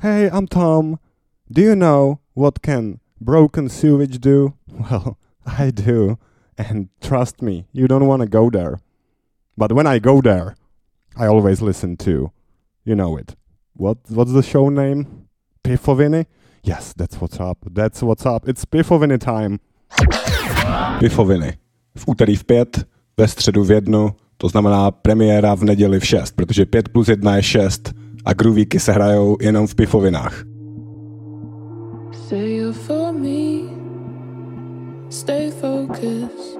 Hey, I'm Tom. Do you know what can broken sewage do? Well, I do. And trust me, you don't want to go there. But when I go there, I always listen to, you know it. What's the show name? Pifoviny? Yes, that's what's up. That's what's up. It's Pifoviny time. Pifoviny. V úterý v 5, ve středu v 1, to znamená premiéra v neděli v 6, protože 5 plus 1 je 6 a groovíky se hrajou jenom v Pifovinách. Say you for me, stay focused.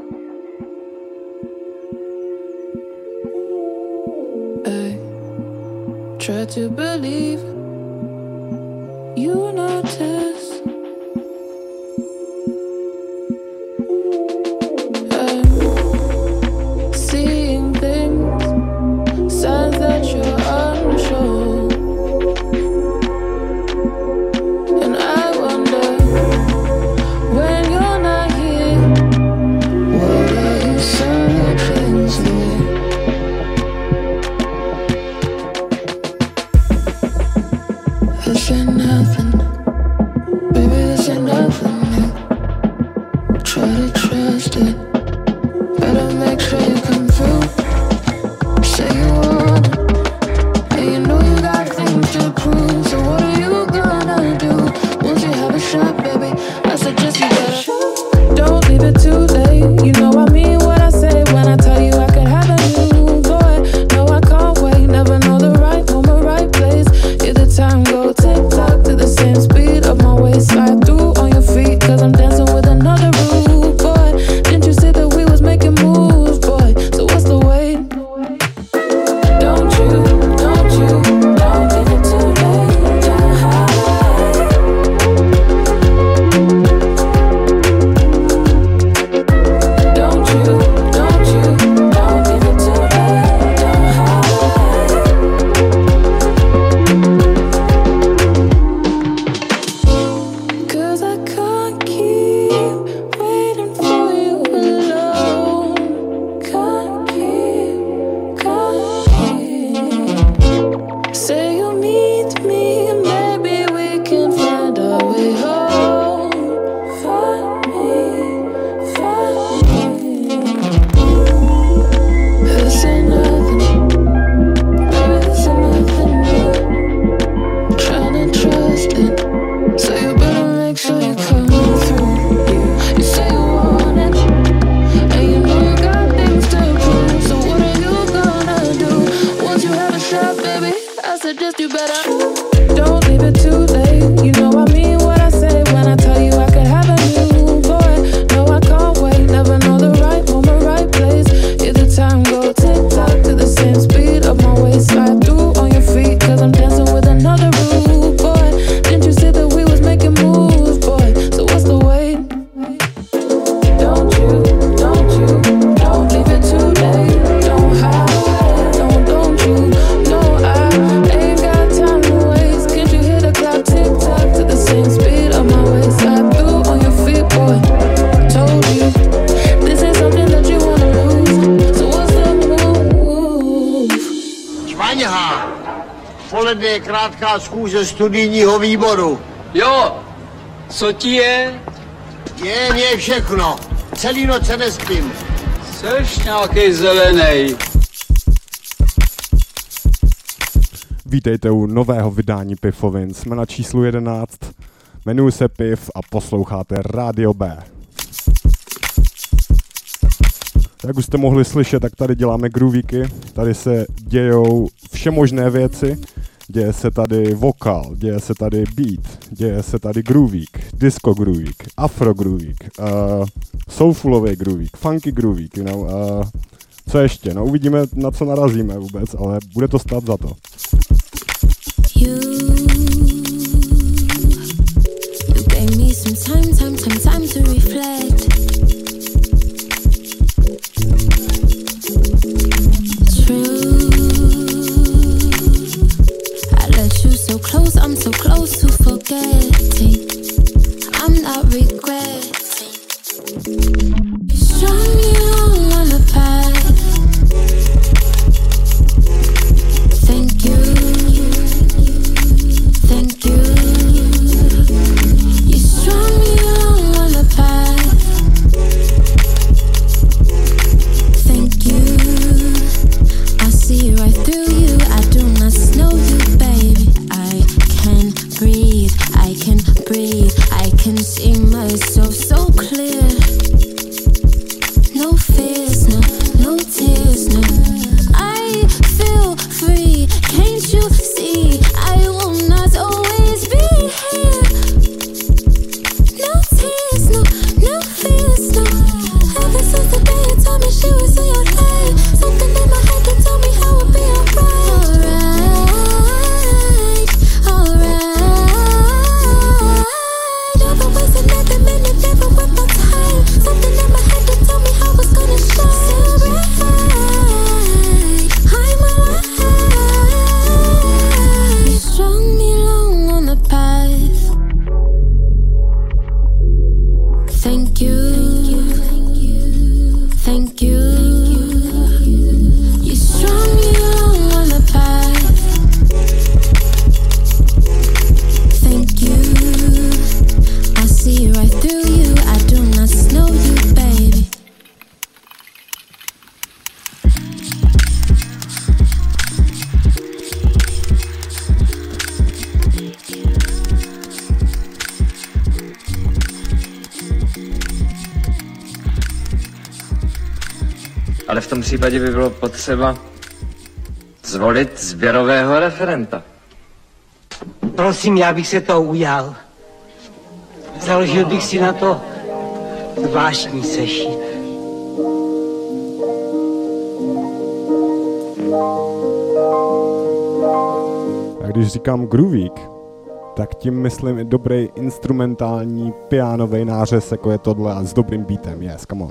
I try to believe you notice. I'm seeing things, signs that you're unsure. And I wonder, when you're not here, what are you searching for? This ain't nothing, baby, this ain't nothing new. Try to trust it, better make sure you come through. Say you want it, and you know you got things to prove. So what are you gonna do once you have a shot, baby? I suggest you better don't leave it too late. You know I mean what I say when I tell you I could have a new boy. No, I can't wait, never know the right moment, right place. Hear the time go tick tock to the same speed of my waist. Slide through on your feet, cause I'm dancing with another rude boy. Didn't you say that we was making moves, boy? So what's the wait? Don't you leave it too late. Don't you leave it too late. Cause I can't keep waiting for you alone. Can't keep. Say you'll meet me and maybe we can find our way home. Find me. This ain't nothing, baby, this ain't nothing new. Tryna trust it, so you better make sure you come through. You say you want it, and you know you got things to prove. So what are you gonna do once you have a shot, baby? I suggest you better don't leave it too late. You know I mean what I say when I tell you I could have a new boy. No, I can't wait, never know the right moment, right place. Hear the time go tick tock to the same speed of my waist. Slide through on your feet, cause I'm dancing with another rude boy. Didn't you say that we was making moves, boy? So what's the wait? Don't leave it too late. Don't hide, don't you? No, I ain't got time to waste. Can't you hear the clock tick tock to the same speed of my waist? Slide through on your feet, boy. Told you, this ain't something that you wanna lose. So what's the move? Švaňha, poledne je krátká schůze studijního výboru. Jo, co ti je? Je mě všechno. Celý noc se nespím. Seš nějakej zelenej. Vítejte u nového vydání Pifovin. Jsme na číslu 11. Jmenuji se Piv a posloucháte Rádio B. Jak už jste mohli slyšet, tak tady děláme groovíky. Tady se dějou všemožné věci. Děje se tady vokál, děje se tady beat, děje se tady groovík, disco groovík, afro groovík, soulfulový groovík, funky groovík, you know, co ještě? No uvidíme, na co narazíme vůbec, ale bude to stát za to. You gave me some time to reflect. True, I let you so close, I'm so close to forgetting. I'm not regretting. You strung me on the path. Thank you. it's so clear. No fears, no tears, no. I feel free, can't you see? I will not always be here. No tears, no fears, no. Ever since the day you told me she was in your life, something in my head that told me how it'd be alright. Alright. Never wasted another minute, never with my time. Something in my head that told me how it's gonna shine. So bright, I'm alive. You strung me along on the path. Thank you. Thank you. You strung me along on the path. Thank you. I see right through you. I do not know you, baby. Ale v tom případě by bylo potřeba zvolit sběrového referenta. Prosím, já bych se toho ujal. Založil bych si na to zvláštní sešit. A když říkám groovík, tak tím myslím i dobrý instrumentální pianový nářez, jako je tohle, a s dobrým beatem. Yes, come on.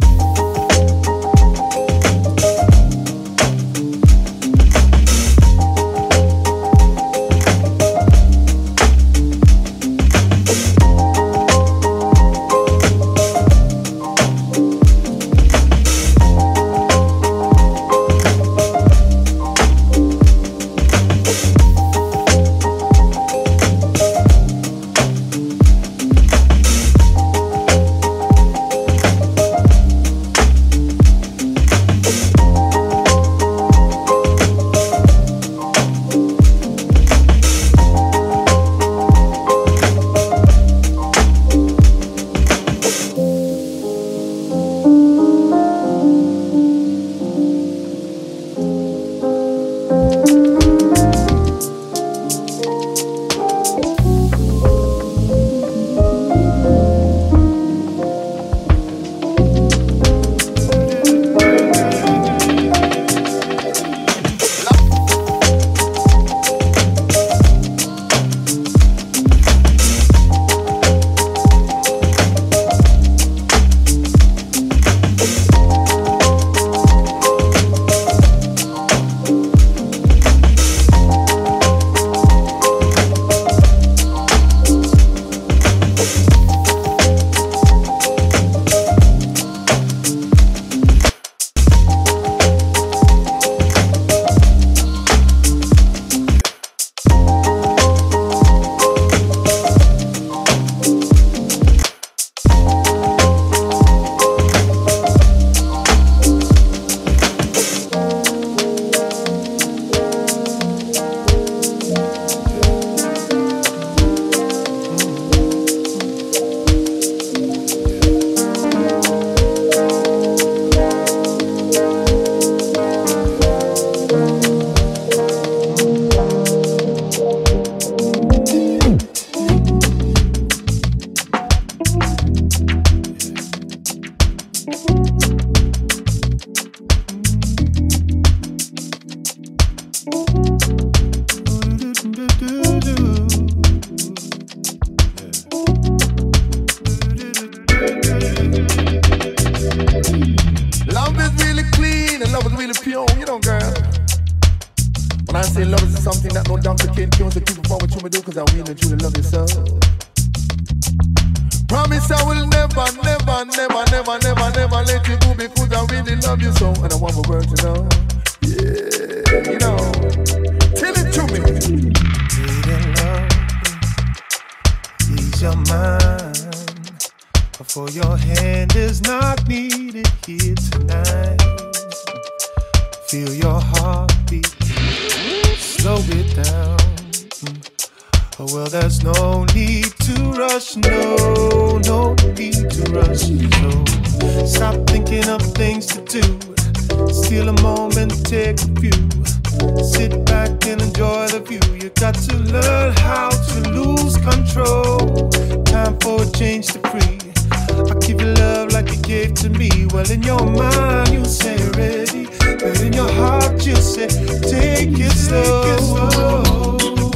Well, there's no need to rush, no need to rush. So stop thinking of things to do. Steal a moment, take a view. Sit back and enjoy the view. You got to learn how to lose control. Time for a change to free. I give you love like you gave to me. Well, in your mind you say ready, but in your heart you say take it slow.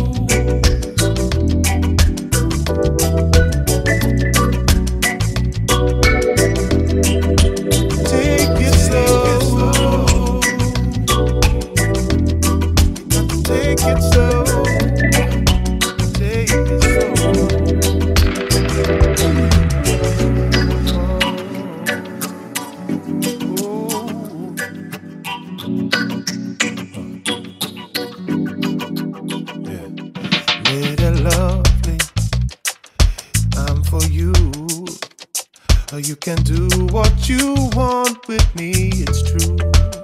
You can do what you want with me, it's true.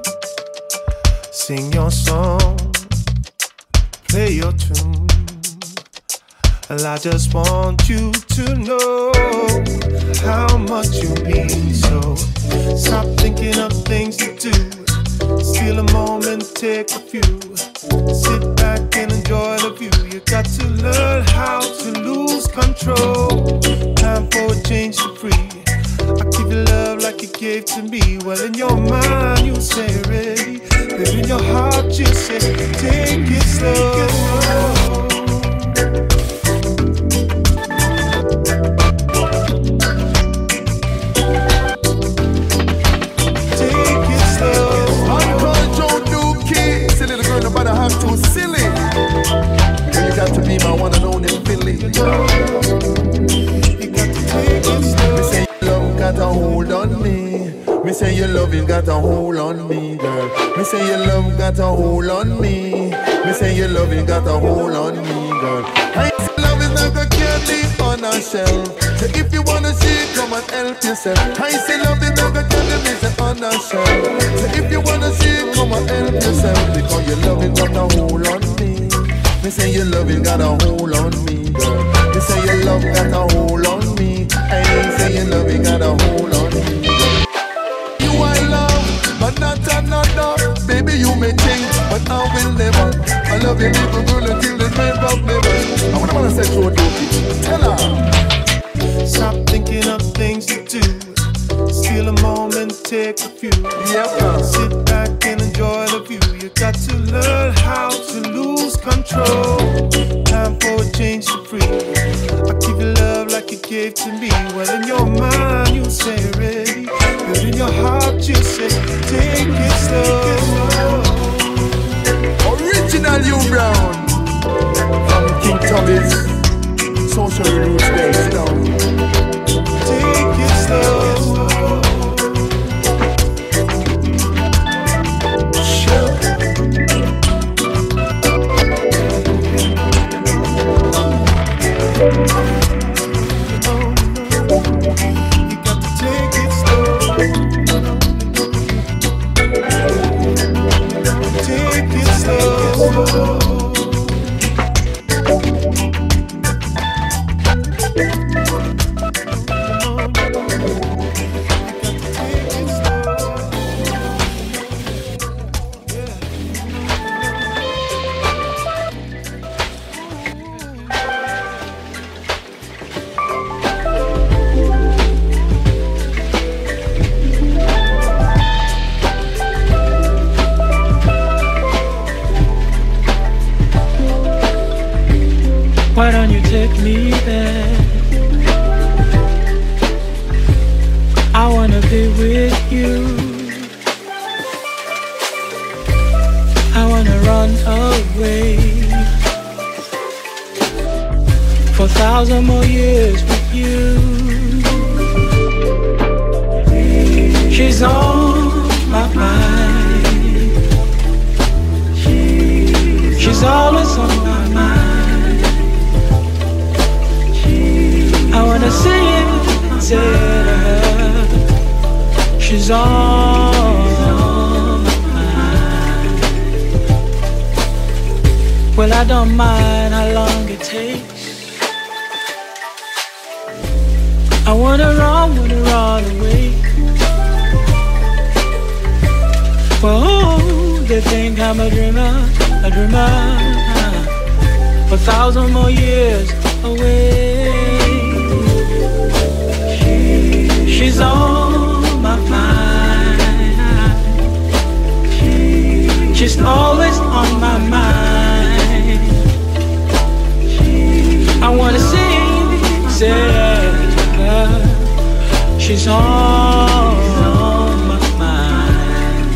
Sing your song, play your tune. Well, I just want you to know how much you mean. So stop thinking of things to do. Steal a moment, take a few. Sit back and enjoy the view. You got to learn how to lose control. Time for a change to free. I give you love like you gave to me. Well, in your mind you say ready, but in your heart you say take it slow. Take it slow. Uncontrolled new kid. Silly little girl, nobody have too silly. Girl, you got to be my one and only Philly. You got to take it slow. Got a hold on me. Me say your loving got a hold on me, girl. Me say your love got a hold on me. Me say your loving got a hold on me, girl. I say love is like a candy on a shelf. So if you wanna see, come and help yourself. I say love is like a candy on a shelf. So if you wanna see, come and help yourself. Because your loving got a hold on me. Me say your loving got a hold on me, girl. Me say your love got a hold on me. I say your loving got a hold on me. You I love, but not another. Baby, you may think, but I will never. I love you, little girl, until the grave of never. I wanna say to you, tell her. Stop thinking of things to do. Steal a moment, take a few. Yep. Sit back and enjoy the view. You got to learn how to lose control. Time for a change to free. I give you love like you gave to me. Well, in your mind you say ready, but in your heart you say take it slow. Original you Brown from King Tommy's Social Roots Day. Sit down. Take it slow. Why don't you take me there? I wanna be with you. I wanna run away for 1,000 more years with you. She's on my mind. She's always on my mind. I wanna see it, say to her, she's on my mind. Well, I don't mind how long it it takes. I wanna run away. Whoa, they think I'm a dreamer. 1,000 more years away. She's on my mind. She's always on my mind. I wanna say she's on my mind.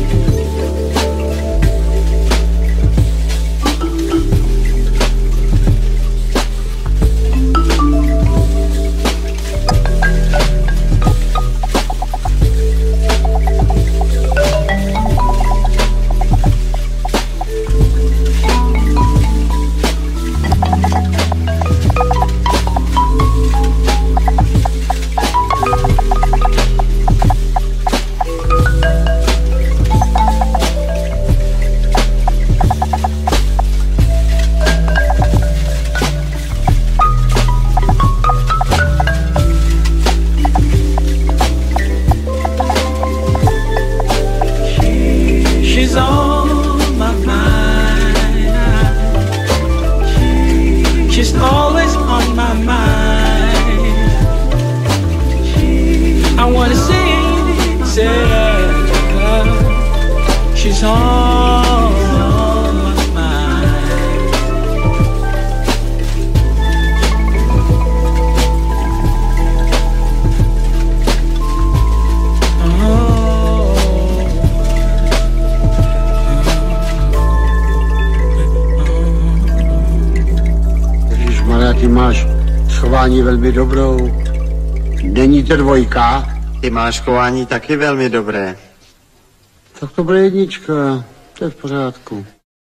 Velmi dobrou. Není to dvojka? Ty máš chování taky velmi dobré. Tak to bude jednička, to je v pořádku.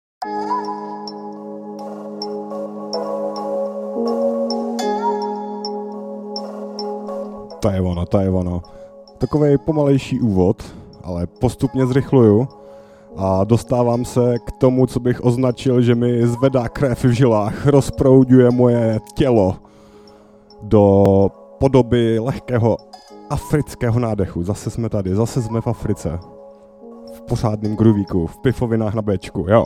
To je ono. Takovej pomalejší úvod, ale postupně zrychluju a dostávám se k tomu, co bych označil, že mi zvedá krev v žilách, rozprouduje moje tělo do podoby lehkého afrického nádechu. Zase jsme tady, zase jsme v Africe. V pořádném groovíku, v pifovinách na Bčku, jo.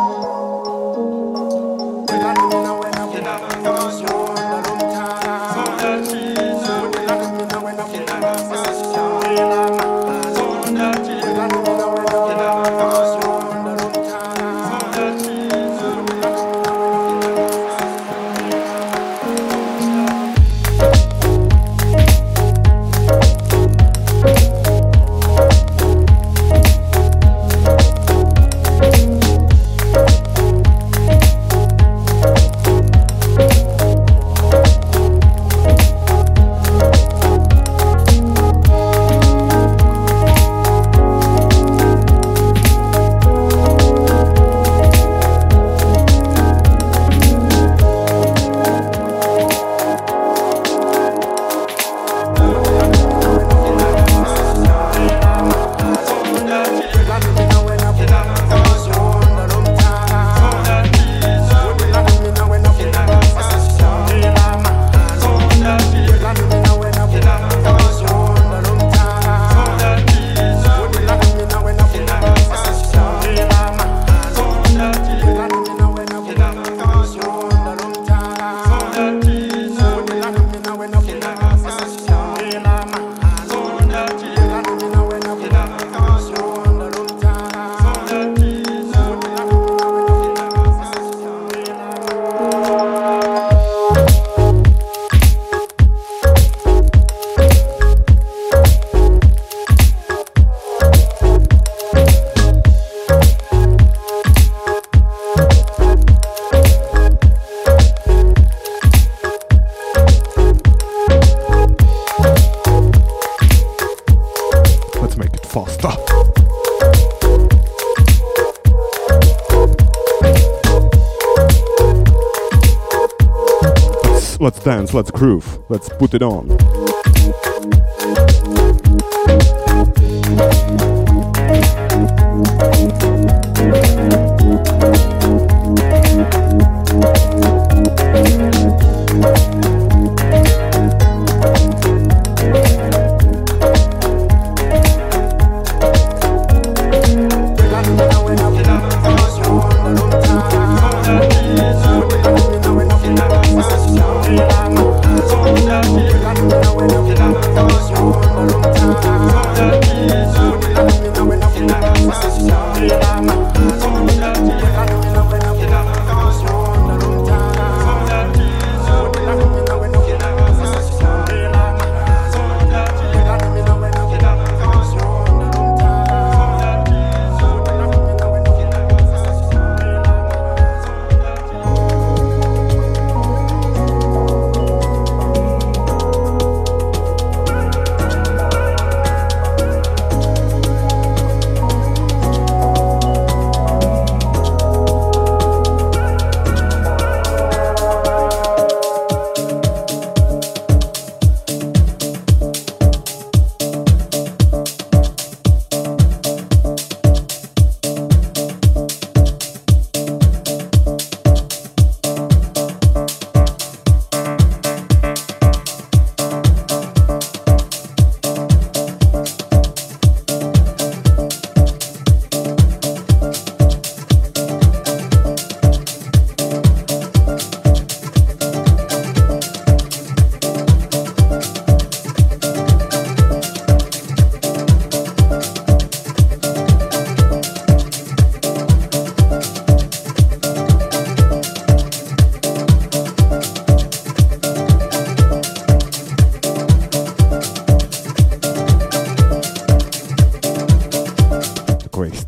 Let's dance, let's groove, let's put it on.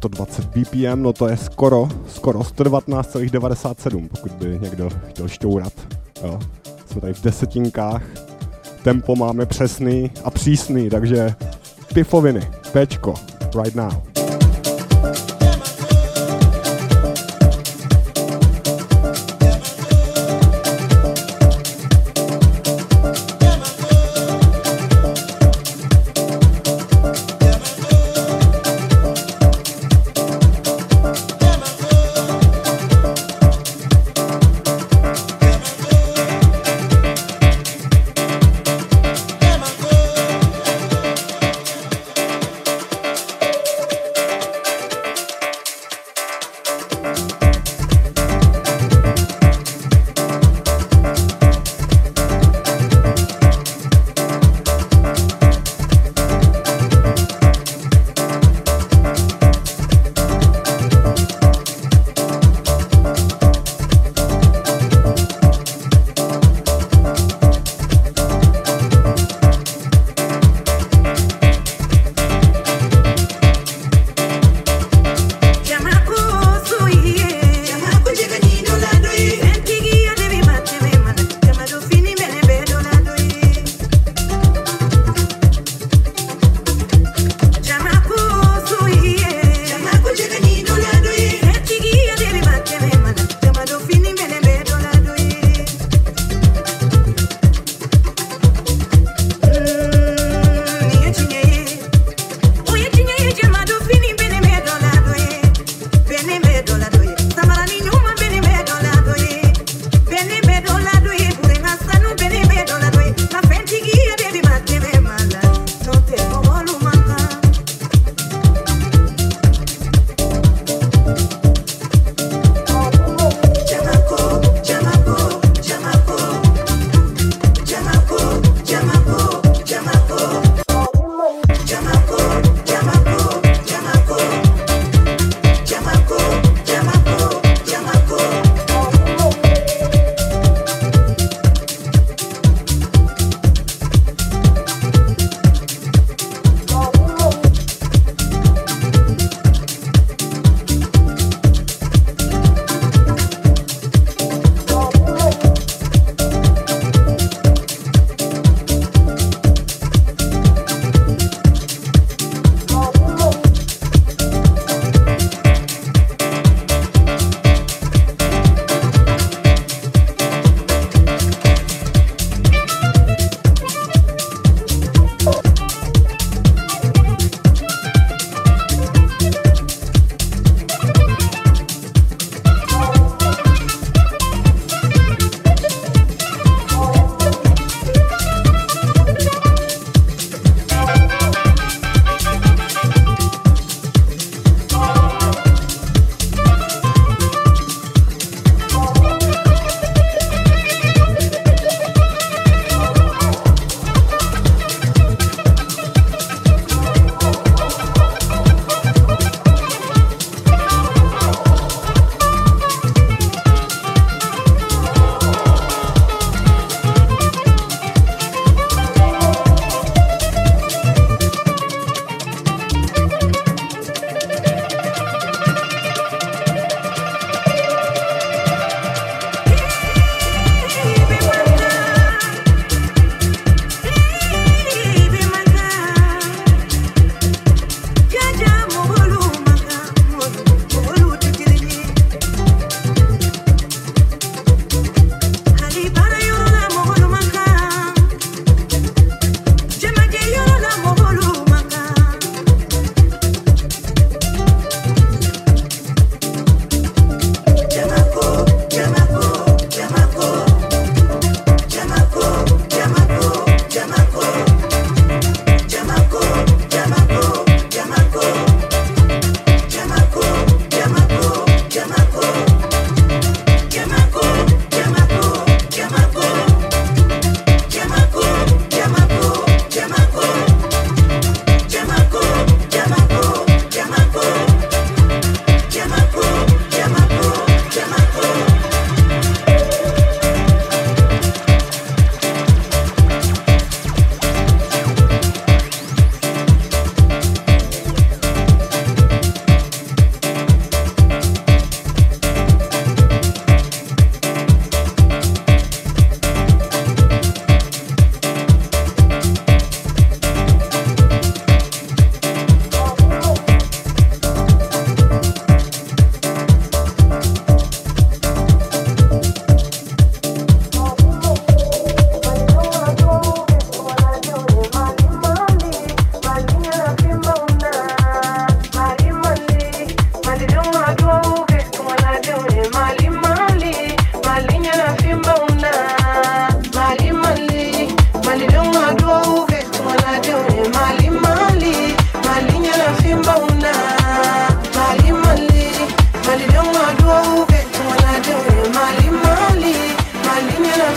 120 BPM, no to je skoro 119,97, pokud by někdo chtěl šťourat. Jo. Jsme tady v desetinkách, tempo máme přesný a přísný, takže pifoviny, Pčko, right now.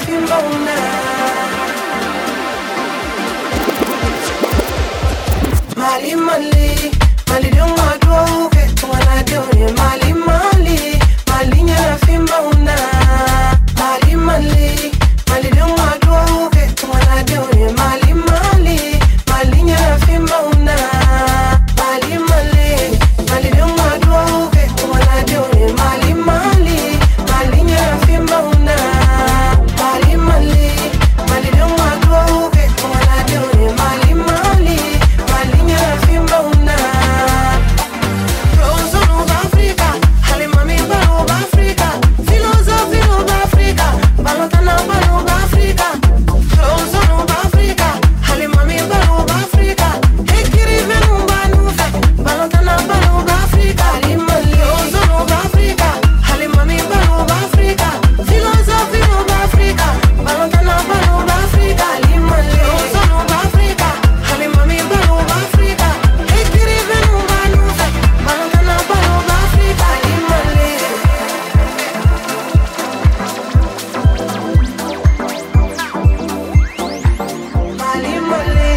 Mali, Mali, Mali don't want to get to what I do. Mali, Mali, Mali, you're a fimbauna. Mali, Mali, Mali don't want to get to what I do. Mali, Mali, Mali, you're a fimbauna. Mali, Mali, Mali don't want to get to what I do. Mali, Mali, Mali, you're a fimbauna. Mali, Mali, Mali don't want to get to what I do. Mali, Mali, Mali, you're a fimbauna. Rose of Africa, Halimami Balo Africa, Philosophy of Africa, Balotana Balo Africa, Rose of Africa, Halimami Balo Africa, Ekiri Venumba Nufe, Balotana Balo Africa, Rose of Africa, Halimami Balo Africa, Philosophy of Africa, Balotana Balo Africa, Rose of Africa, Halimami Balo Africa, Ekiri Venumba Nufe, Balotana Balo Africa, Mali, Mali.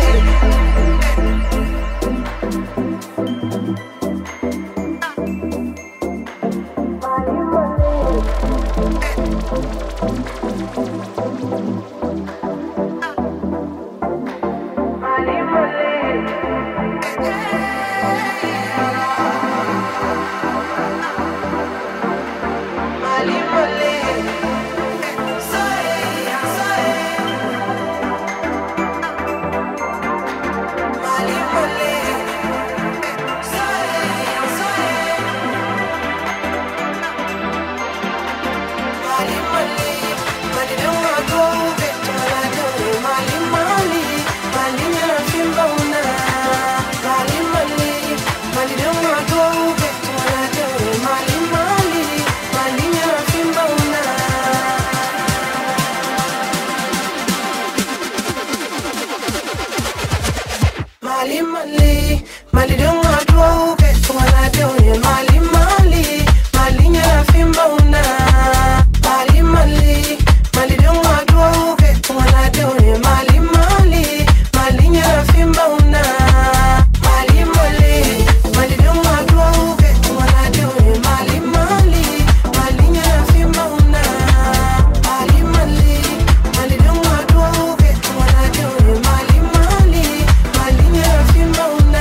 Mali, Mali, Mali don't want to get to what I do. Mali, Mali, Mali, you're a fimbauna. Mali, Mali, Mali don't want to get to what I do. Mali, Mali, Mali, you're a fimbauna. Mali, Mali, Mali don't want to get to what I do. Mali, Mali, Mali, you're a fimbauna. Mali, Mali, Mali don't want to get to what I do. Mali, Mali, Mali, you're a fimbauna.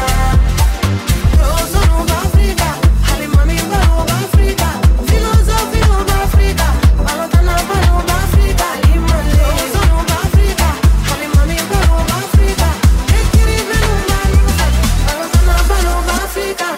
Rose of Africa, Halimami Balo Africa, Philosophy of Africa, Balotana Balo Africa, Rose of Africa, Halimami Balo Africa, Ekiri Venumba Nufe, Balotana Balo Africa.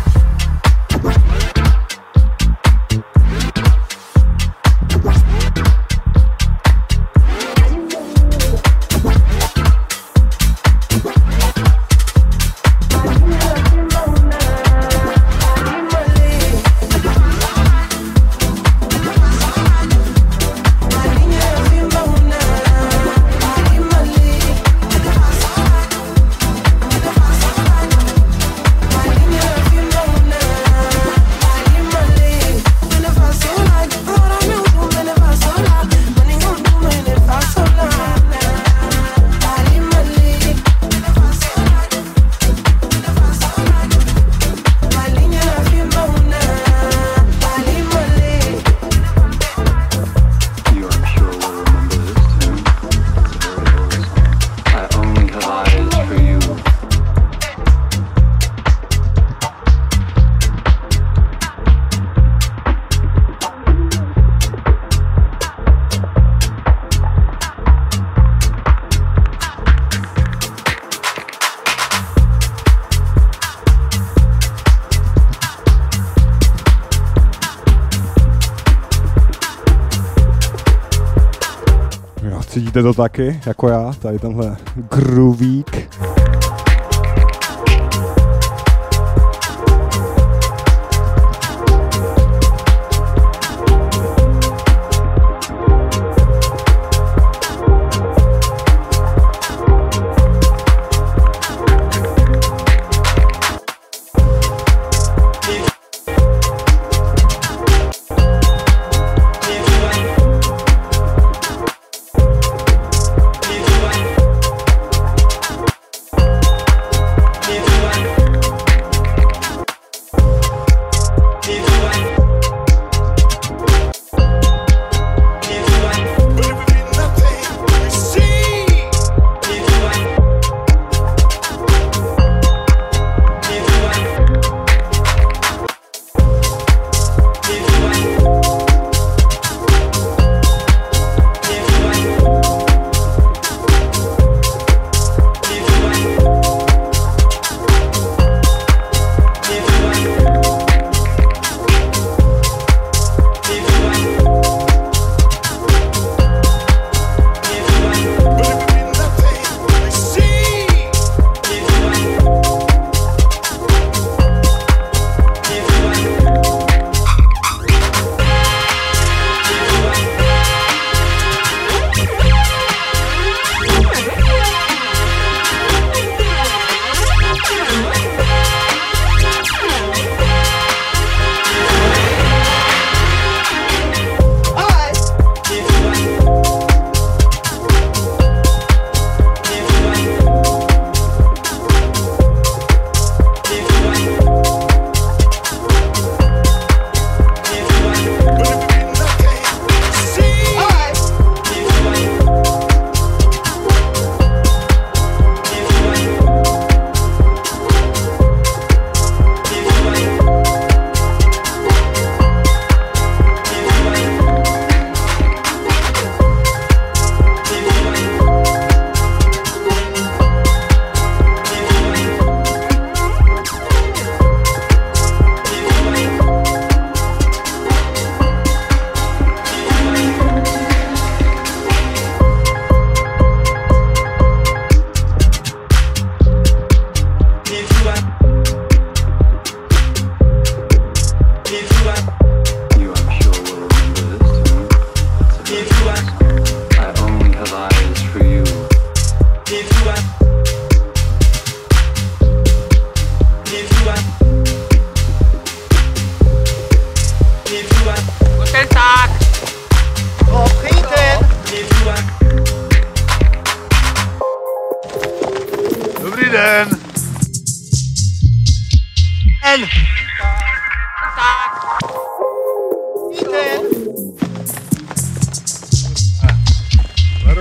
Cítíte to taky, jako já, tady tenhle groovík.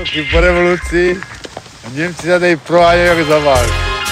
roky po revoluci a Němci se tady prohánějí jak za vás.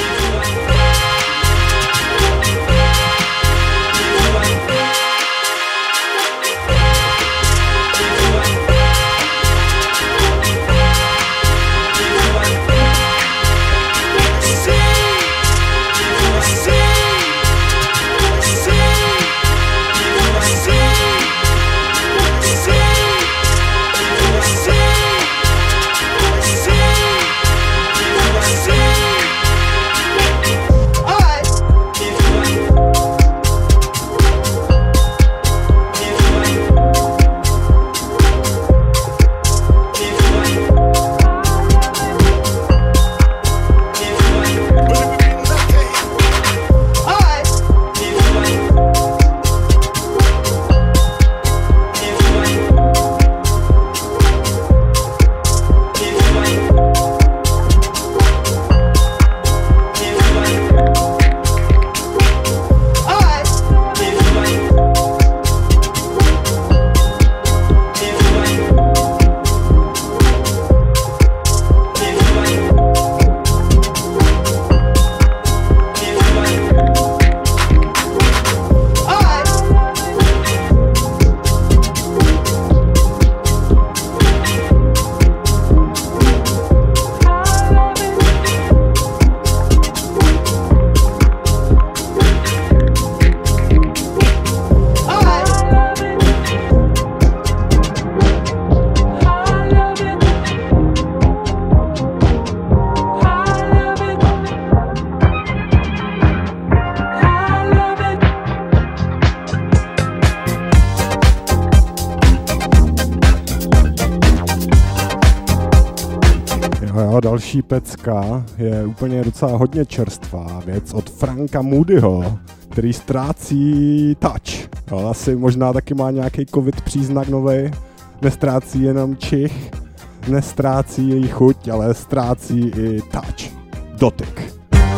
Další pecka je úplně docela hodně čerstvá věc od Franka Moodyho, který ztrácí touch. Jo, asi možná taky má nějaký covid příznak novej. Nestrácí jenom čich, nestrácí její chuť, ale ztrácí i touch. Dotyk.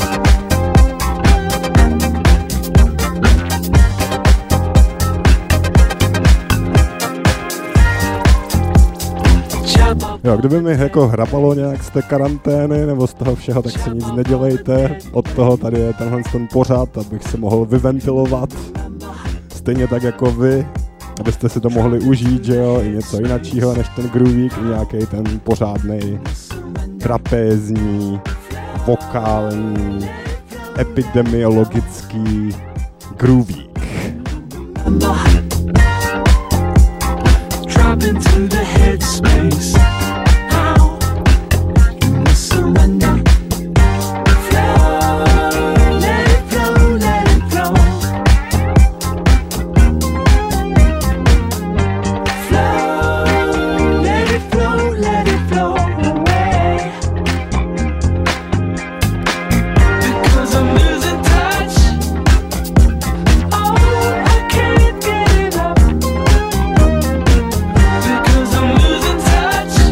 Jo, kdyby mi jako hrabalo nějak z té karantény nebo z toho všeho, tak si nic nedělejte. Od toho tady je tenhle ten pořad, abych se mohl vyventilovat. Stejně tak jako vy, abyste si to mohli užít, že jo, i něco jiného než ten groovík, i nějaký ten pořádnej trapézní, vokální, epidemiologický groovík. Drop into the headspace. How can we surrender? Flow, let it flow, let it flow. Flow, let it flow, let it flow away. Because I'm losing touch. Oh, I can't get it up. Because I'm losing touch.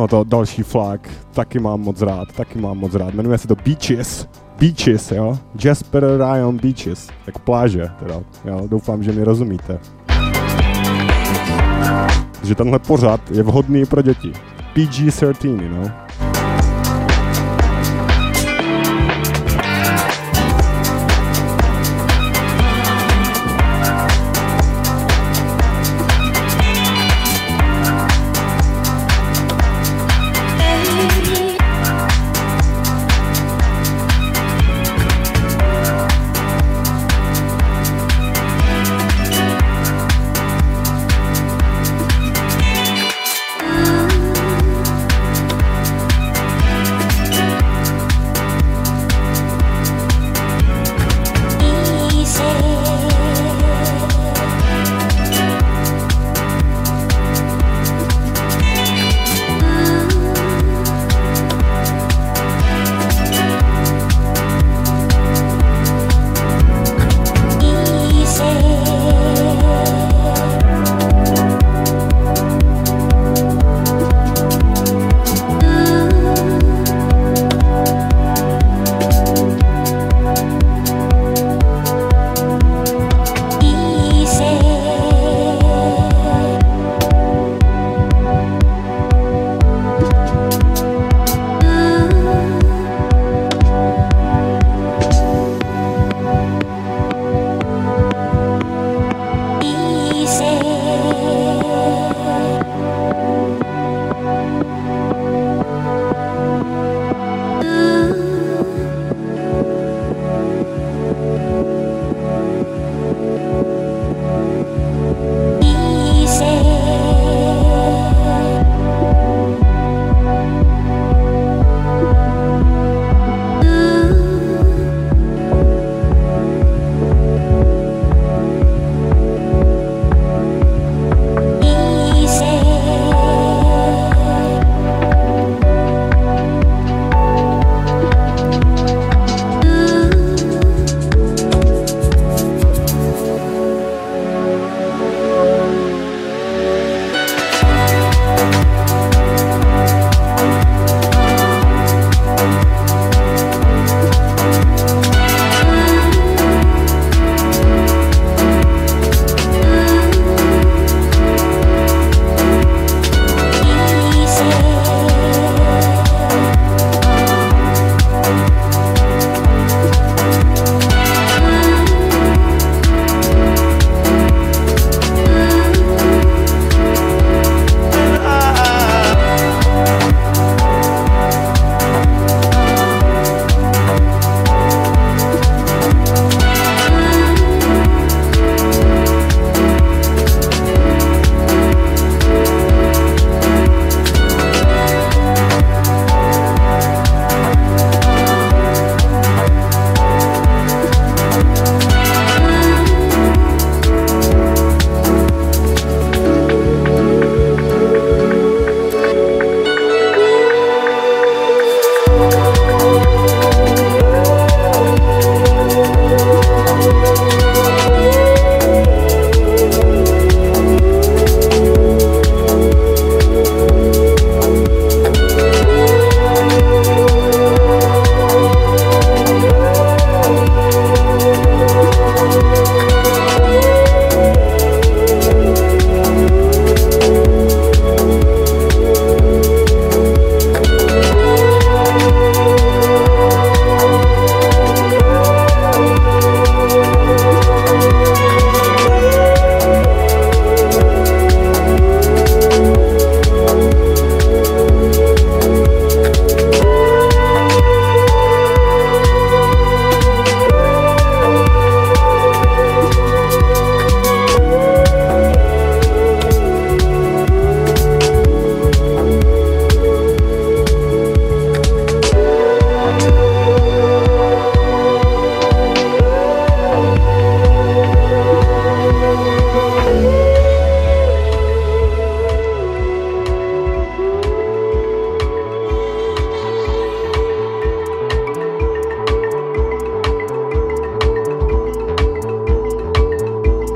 No to další flag, taky mám moc rád, jmenuje se to Beaches, jo, Jasper Ryan Beaches, jako pláže teda, jo, doufám, že mi rozumíte. Že tenhle pořad je vhodný pro děti, PG-13, you know.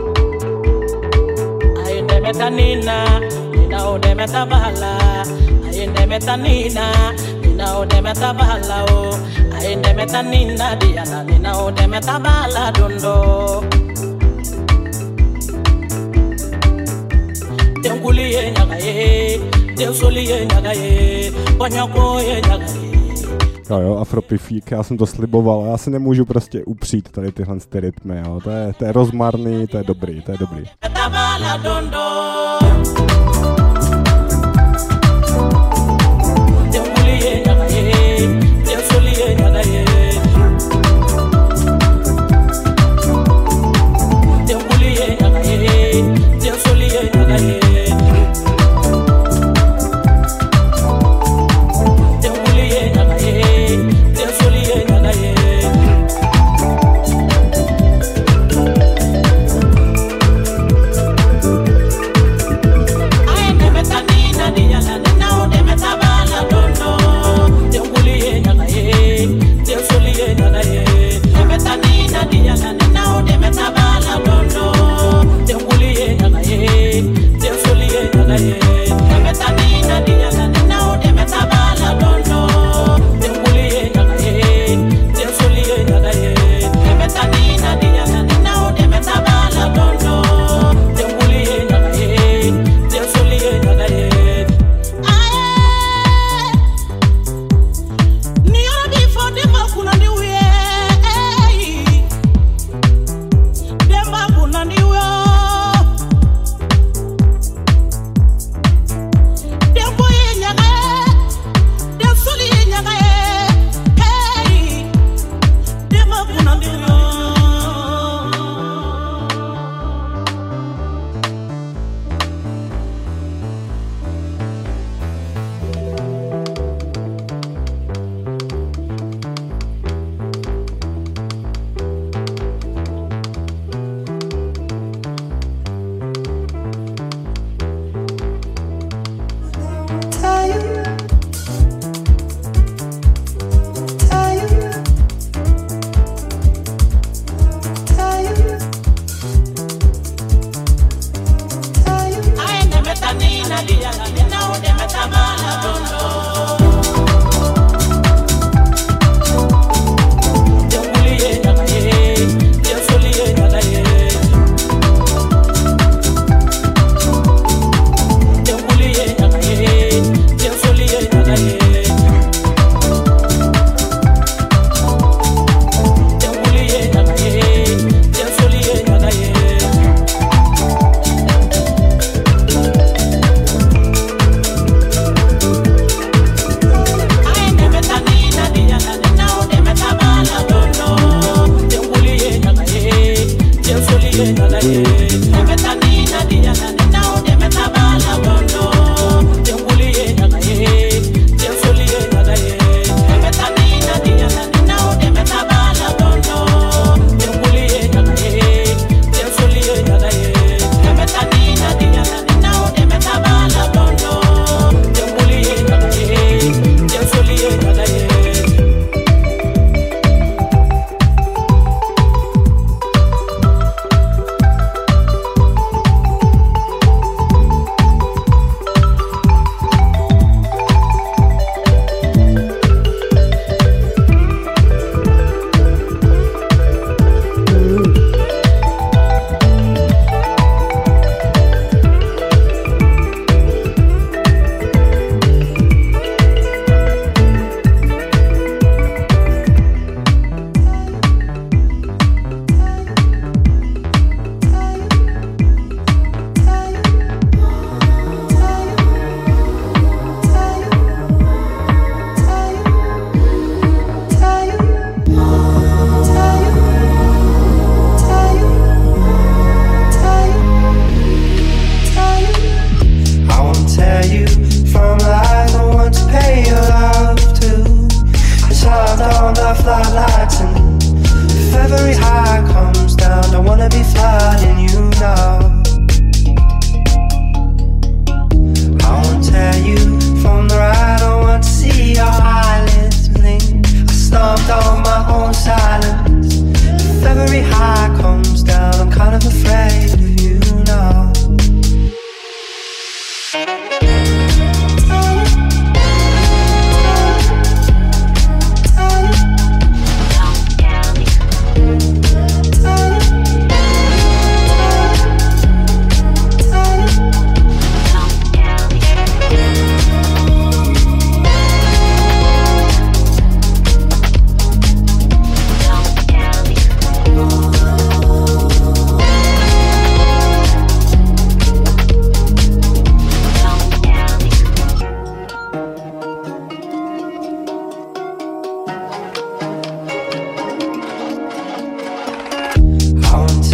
metanina, nina ode metabahala. Aende metanina, nina ode metabala o. Aende metanina diana, nina ode metabala dondo. Tenguliye nyagaye, teusuliye nyagaye, konyakoye nyagaye. Jo, afropifík, já jsem to sliboval, já si nemůžu prostě upřít tady tyhle rytmy, jo. To je rozmarný, to je dobrý. Metabala dondo. Tenguliye nyagaye, teusuliye nyagaye. Tenguliye nyagaye, teusuliye nyagaye.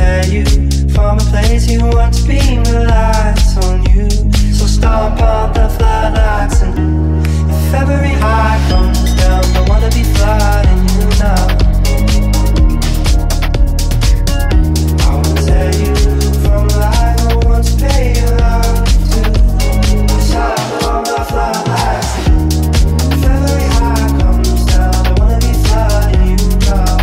tear you from a place you want to beam the lights on you. So stomp on the floodlights, and if every high comes down, I wanna be flooding you now. I will tear you from a life I want to pay you love to. Stomp on the floodlights, and if every high comes down, I wanna be flooding you now.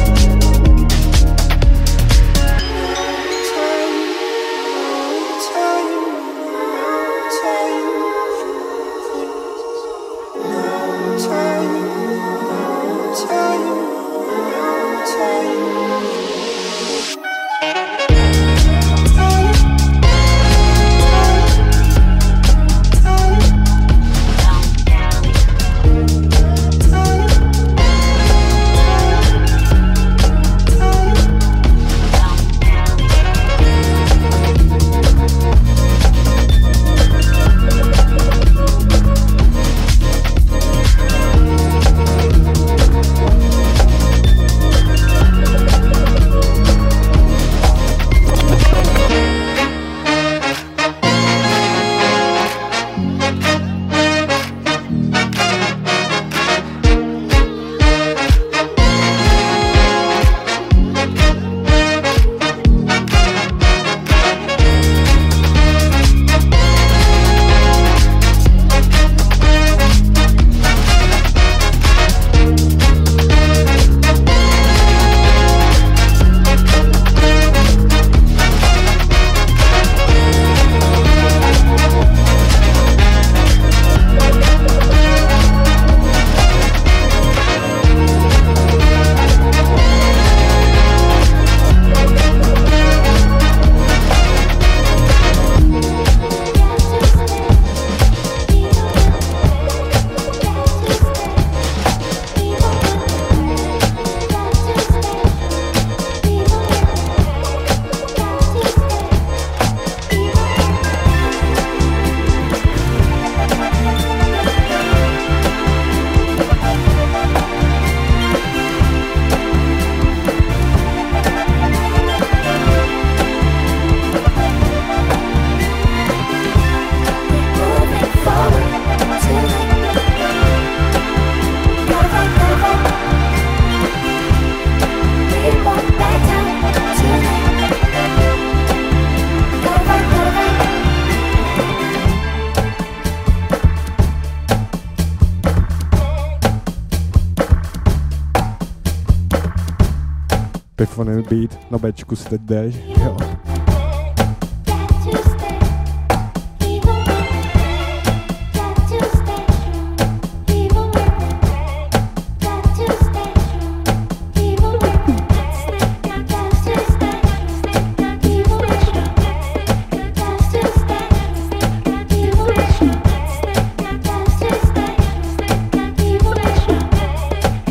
Pifoný beat, na Bčku si teď jdeš, jo.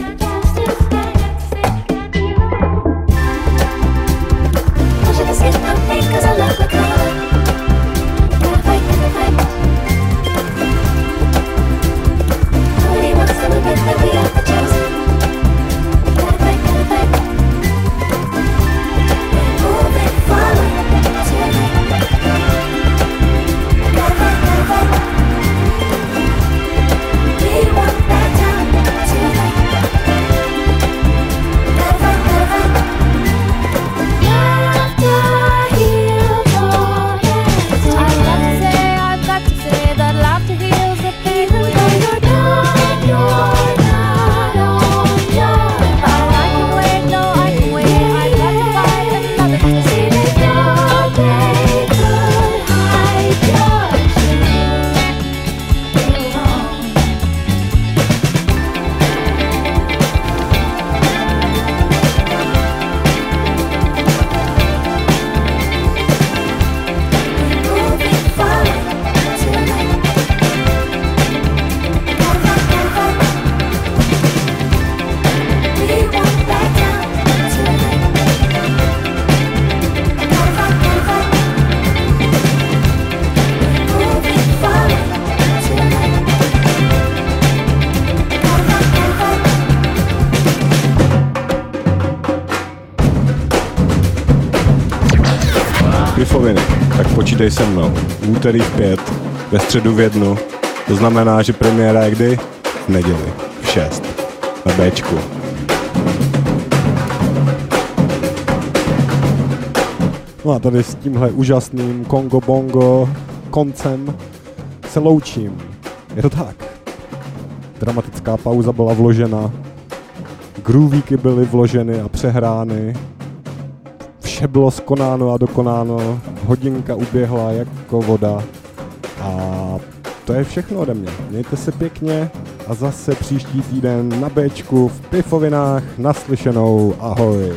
It's Pifoviny, tak počítej se mnou. V úterý v 5, ve středu v 1. To znamená, že premiéra je kdy? V neděli v 6. Na Bčku. No a tady s tímhle úžasným Kongo Bongo koncem se loučím. Je to tak. Dramatická pauza byla vložena, groovíky byly vloženy a přehrány, vše bylo skonáno a dokonáno, hodinka uběhla jako voda a to je všechno ode mě. Mějte se pěkně a zase příští týden na Bčku v Pifovinách naslyšenou. Ahoj.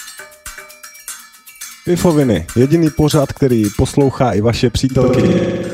Pifoviny, jediný pořad, který poslouchá i vaše přítelkyně.